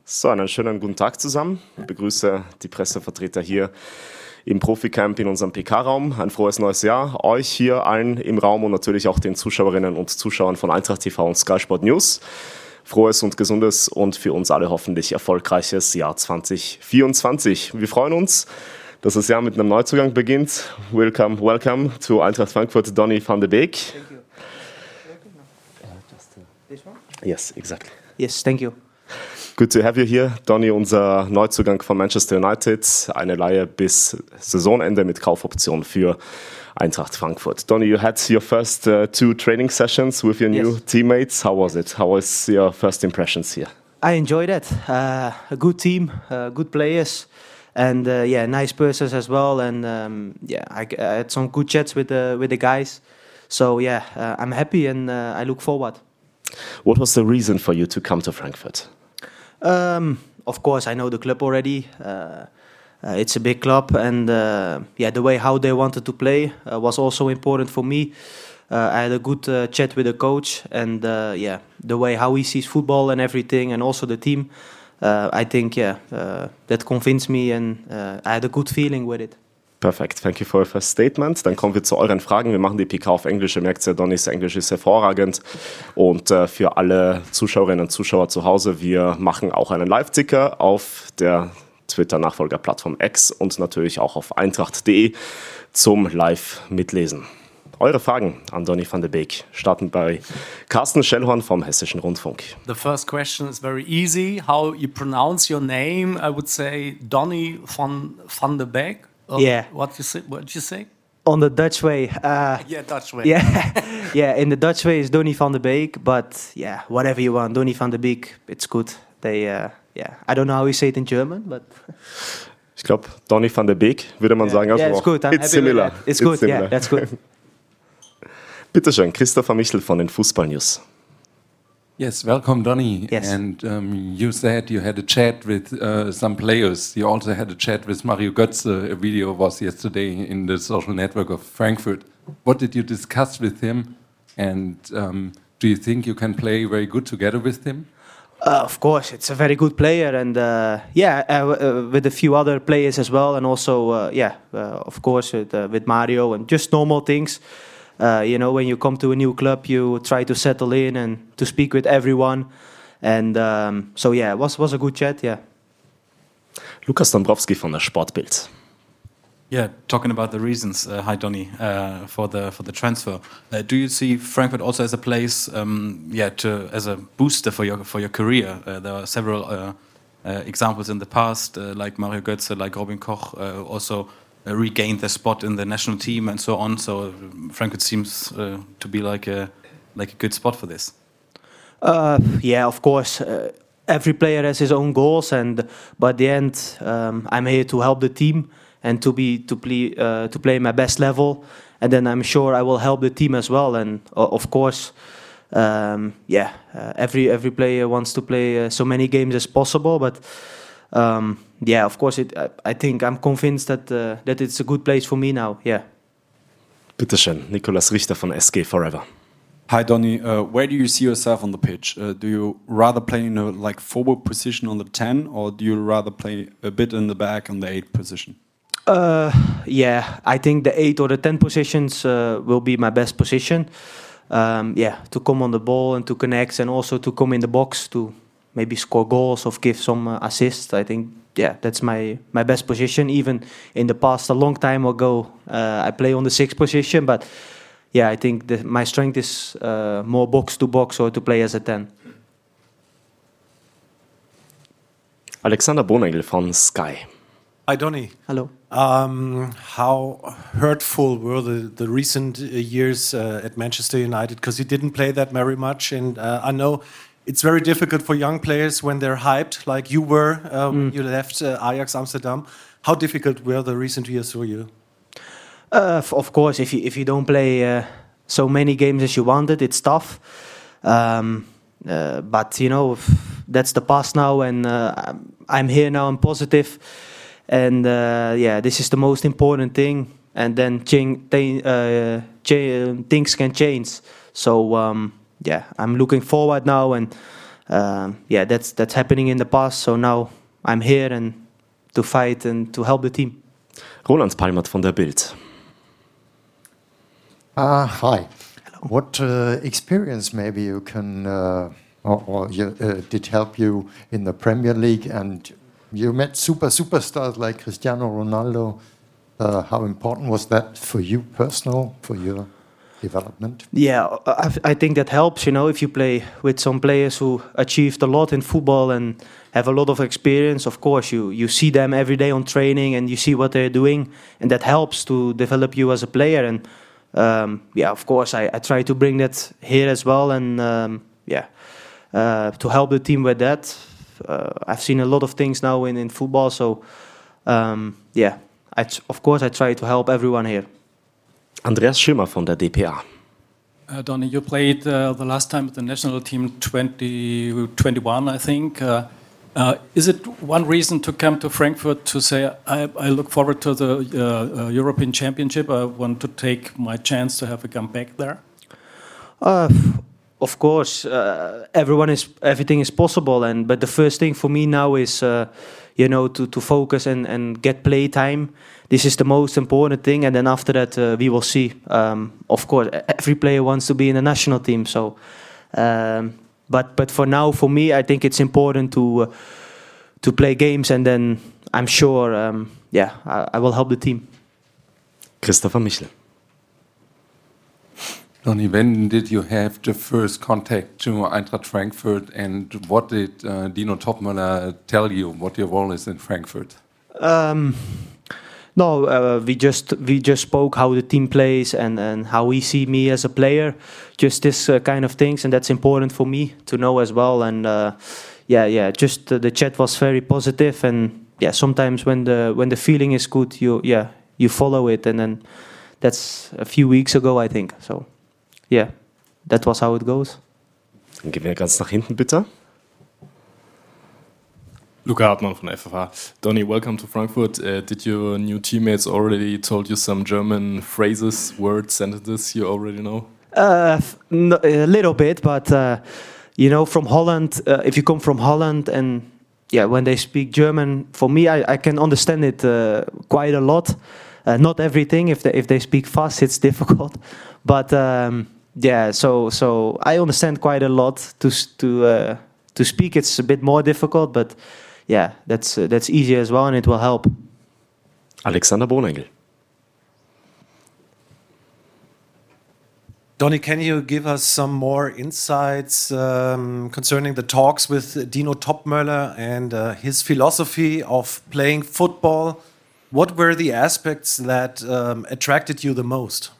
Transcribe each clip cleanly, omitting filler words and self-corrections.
So, einen schönen guten Tag zusammen. Ich begrüße die Pressevertreter hier im Profi-Camp in unserem PK-Raum. Ein frohes neues Jahr euch hier allen im Raum und natürlich auch den Zuschauerinnen und Zuschauern von Eintracht TV und Sky Sport News. Frohes und gesundes und für uns alle hoffentlich erfolgreiches Jahr 2024. Wir freuen uns, dass das Jahr mit einem Neuzugang beginnt. Welcome to Eintracht Frankfurt, Donny van de Beek. Thank you. This one? Yes, exactly. Yes, thank you. Good to have you here. Donny, unser Neuzugang von Manchester United. Eine Leihe bis Saisonende mit Kaufoption für Eintracht Frankfurt. Donny, you had your first two training sessions with your new teammates. How was it? How was your first impressions here? I enjoyed it. A good team, good players, and nice persons as well. And I had some good chats with the guys. So I'm happy and I look forward. What was the reason for you to come to Frankfurt? Of course, I know the club already. It's a big club, and the way how they wanted to play was also important for me. I had a good chat with the coach, and the way how he sees football and everything, and also the team. I think that convinced me, and I had a good feeling with it. Perfekt, thank you for your first statement. Dann kommen wir zu euren Fragen. Wir machen die PK auf Englisch. Ihr merkt ja, Donnys Englisch ist hervorragend. Und für alle Zuschauerinnen und Zuschauer zu Hause, wir machen auch einen Live-Ticker auf der Twitter-Nachfolgerplattform X und natürlich auch auf eintracht.de zum Live-Mitlesen. Eure Fragen an Donny van de Beek starten bei Carsten Schellhorn vom Hessischen Rundfunk. The first question is very easy. How you pronounce your name? I would say Donny van de Beek. Yeah. What you say? On the Dutch way. Dutch way. Yeah. In the Dutch way is Donny van de Beek, but whatever you want, Donny van de Beek, it's good. I don't know how you say it in German, but ich glaube, Donny van de Beek würde man sagen. Also it's good. It's similar. It's good. Yeah, that's good. Bitte schön, Christopher Michel von den Fußball News. Yes, welcome, Donny. Yes. And you said you had a chat with some players. You also had a chat with Mario Götze. A video was yesterday in the social network of Frankfurt. What did you discuss with him? And do you think you can play very good together with him? Of course, it's a very good player, and with a few other players as well, and also of course with Mario and just normal things. When you come to a new club, you try to settle in and to speak with everyone, and it was a good chat. Yeah. Lukas Dombrowski von der Sportbild. Yeah, talking about the reasons, hi Donny, for the transfer. Do you see Frankfurt also as a place, as a booster for your career? There are several examples in the past, like Mario Götze, like Robin Koch, also regained their spot in the national team and so on. So Frankfurt seems to be like a good spot for this. Of course. Every player has his own goals, but at the end, I'm here to help the team and to play my best level, and then I'm sure I will help the team as well. And of course, every player wants to play so many games as possible, but. Of course, I think I'm convinced that it's a good place for me now. Yeah. Bitte schön, Nikolaus Richter von SG Forever. Hi Donny, where do you see yourself on the pitch? Do you rather play in a forward position on the 10, or do you rather play a bit in the back on the 8 position? I think the 8 or the 10 positions will be my best position. To come on the ball and to connect, and also to come in the box to maybe score goals or give some assists. I think that's my best position. Even in the past, a long time ago, I play on the 6th position, but I think my strength is more box to box or to play as a 10. Alexander Bonengel von Sky. Hi Donny. Hello. How hurtful were the recent years at Manchester United? Because you didn't play that very much, and I know it's very difficult for young players when they're hyped, like you were when you left Ajax Amsterdam. How difficult were the recent years for you? Of course, if you don't play so many games as you wanted, it's tough. But that's the past now, and I'm here now. I'm positive, and this is the most important thing. And then things can change. So I'm looking forward now, and yeah, that's happening in the past. So now I'm here and to fight and to help the team. Roland Palmert von der Bild. Hi. What experience maybe you can did help you in the Premier League, and you met superstars like Cristiano Ronaldo. How important was that for you personal, for your development? Yeah, I think that helps, you know, if you play with some players who achieved a lot in football and have a lot of experience. Of course, you see them every day on training and you see what they're doing, and that helps to develop you as a player. And yeah, of course, I try to bring that here as well, and to help the team with that. I've seen a lot of things now in football, so yeah, of course I try to help everyone here. Andreas Schimmer von der DPA. Donny, you played the last time with the national team 2021, I think. Is it one reason to come to Frankfurt to say, I look forward to the European Championship, I want to take my chance to have a comeback there? Of course, everything is possible, but the first thing for me now is, you know, to focus and get play time. This is the most important thing, and then after that we will see. Of course, every player wants to be in the national team, so. But for now, for me, I think it's important to play games, and then I'm sure, I will help the team. Christopher Michel. Donny, when did you have the first contact to Eintracht Frankfurt, and what did Dino Topmöller tell you? What your role is in Frankfurt? No, we just spoke how the team plays and how he see me as a player, just this kind of things, and that's important for me to know as well. And just the chat was very positive, and yeah, sometimes when the feeling is good, you follow it, and then that's a few weeks ago, I think. So yeah, that was how it goes. Dann gehen wir ganz nach hinten, bitte. Luca Hartmann from FFH. Donny, welcome to Frankfurt. Did your new teammates already told you some German phrases, words, sentences you already know? A little bit, but you know, from Holland, if you come from Holland and when they speak German, for me, I can understand it quite a lot. Not everything. If they speak fast, it's difficult. But so I understand quite a lot. To speak, it's a bit more difficult, but yeah, that's easy as well, and it will help. Alexander Bonengel. Donny, can you give us some more insights concerning the talks with Dino Topmöller and his philosophy of playing football? What were the aspects that attracted you the most?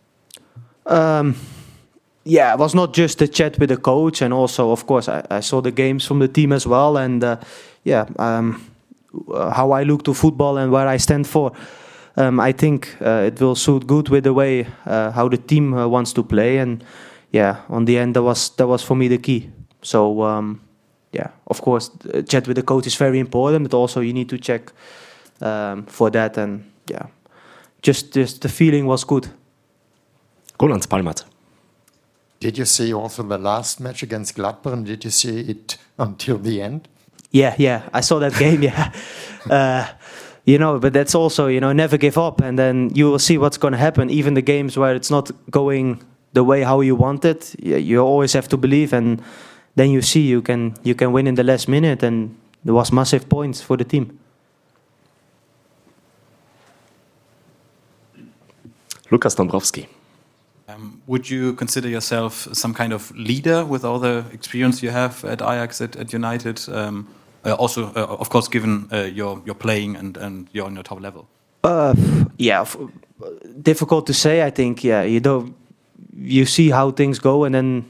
It was not just the chat with the coach, and also, of course, I saw the games from the team as well, and how I look to football and where I stand for. I think it will suit good with the way how the team wants to play, and on the end that was for me the key. So of course, chat with the coach is very important, but also you need to check for that, and just the feeling was good. Roland Palmert. Did you see also the last match against Gladbach? Did you see it until the end? Yeah, I saw that game. You know, but that's also, you know, never give up, and then you will see what's going to happen. Even the games where it's not going the way how you want it, you always have to believe, and then you see you can win in the last minute, and there was massive points for the team. Lukas Dombrowski. Would you consider yourself some kind of leader with all the experience you have at Ajax, at United? Also, of course, given your playing and you're on your top level. Difficult to say. I think you see how things go, and then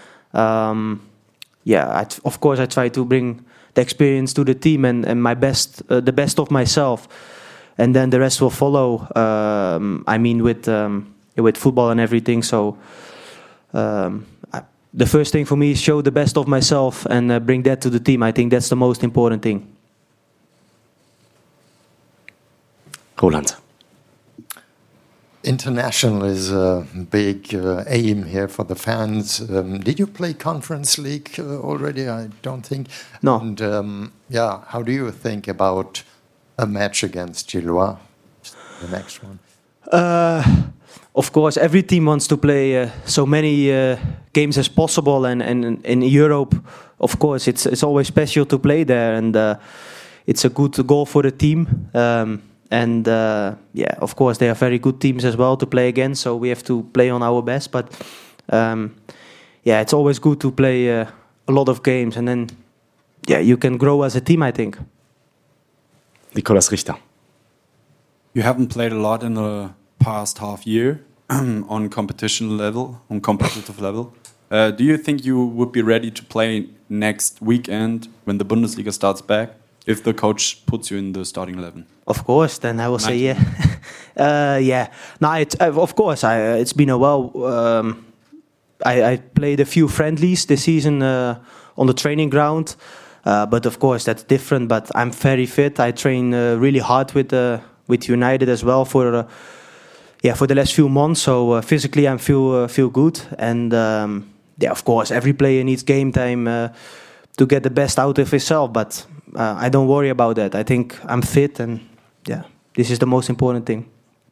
of course I try to bring the experience to the team and my best, the best of myself, and then the rest will follow. I mean, with football and everything. So the first thing for me is show the best of myself and bring that to the team. I think that's the most important thing. Roland. international is a big aim here for the fans. Did you play Conference League already? I don't think. No. And how do you think about a match against Gillois, the next one? Of course, every team wants to play so many games as possible, and in Europe, of course, it's always special to play there, and it's a good goal for the team. Of course, they are very good teams as well to play against, so we have to play on our best. But it's always good to play a lot of games, and then you can grow as a team, I think. Nikolaus Richter. You haven't played a lot in the past half year on competitive level. Do you think you would be ready to play next weekend when the Bundesliga starts back if the coach puts you in the starting 11? Of course, then I will say yeah. No, of course. It's been a while. I played a few friendlies this season on the training ground, but of course that's different. But I'm very fit. I train really hard with United as well for the last few months. So physically, I feel good, and of course, every player needs game time to get the best out of himself. But I don't worry about that. I think I'm fit, and this is the most important thing.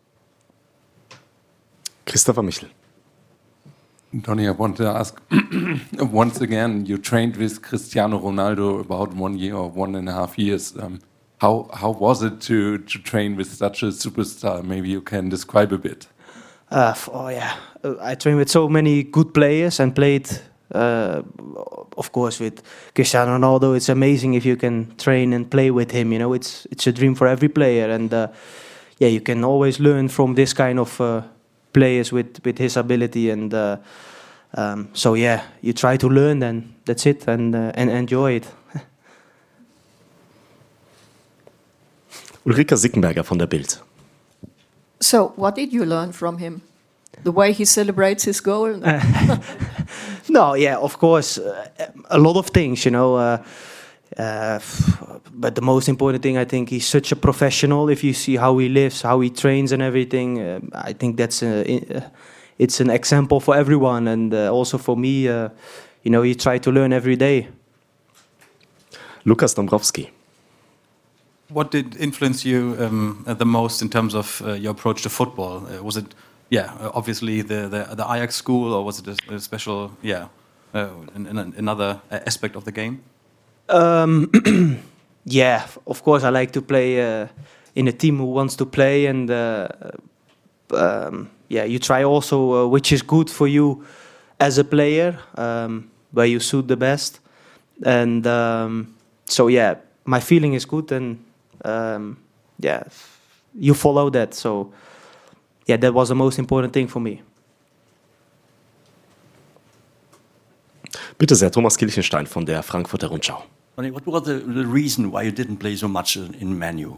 Christopher Michel. Donny, I want to ask once again. You trained with Cristiano Ronaldo about 1 year or 1.5 years. How was it to train with such a superstar? Maybe you can describe a bit. I trained with so many good players and played, of course, with Cristiano Ronaldo. It's amazing if you can train and play with him. You know, it's a dream for every player, and you can always learn from this kind of players with his ability. And you try to learn, and that's it, and enjoy it. Ulrika Sickenberger von der Bild. So, what did you learn from him? The way he celebrates his goal? Of course, a lot of things, you know. But the most important thing, I think, he's such a professional. If you see how he lives, how he trains and everything, I think it's an example for everyone, and also for me. You try to learn every day. Lukas Dombrowski. What did influence you the most in terms of your approach to football? Was it, obviously the Ajax school, or was it a special, another aspect of the game? Of course, I like to play in a team who wants to play, and you try also which is good for you as a player, where you suit the best, and my feeling is good, and you follow that. So that was the most important thing for me. Bitte sehr, Thomas Kilchenstein von der Frankfurter Rundschau. What was the reason why you didn't play so much in Man U?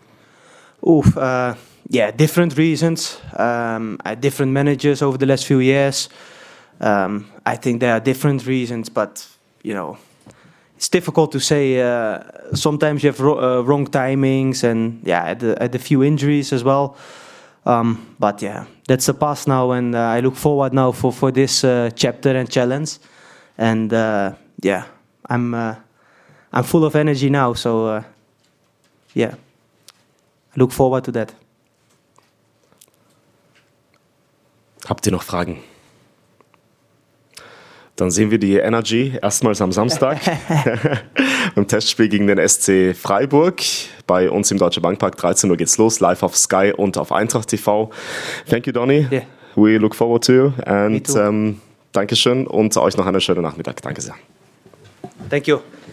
Different reasons. Different managers over the last few years. I think there are different reasons, but it's difficult to say. Sometimes you have wrong timings, and had a few injuries as well. But that's the past now, and I look forward now for this chapter and challenge. And I'm full of energy now, so I look forward to that. Habt ihr noch Fragen? Dann sehen wir die Energy erstmals am Samstag beim Testspiel gegen den SC Freiburg. Bei uns im Deutsche Bankpark, 13 Uhr geht's los, live auf Sky und auf Eintracht TV. Thank you, Donny. Yeah. We look forward to you. And Dankeschön und euch noch einen schönen Nachmittag. Danke sehr. Thank you.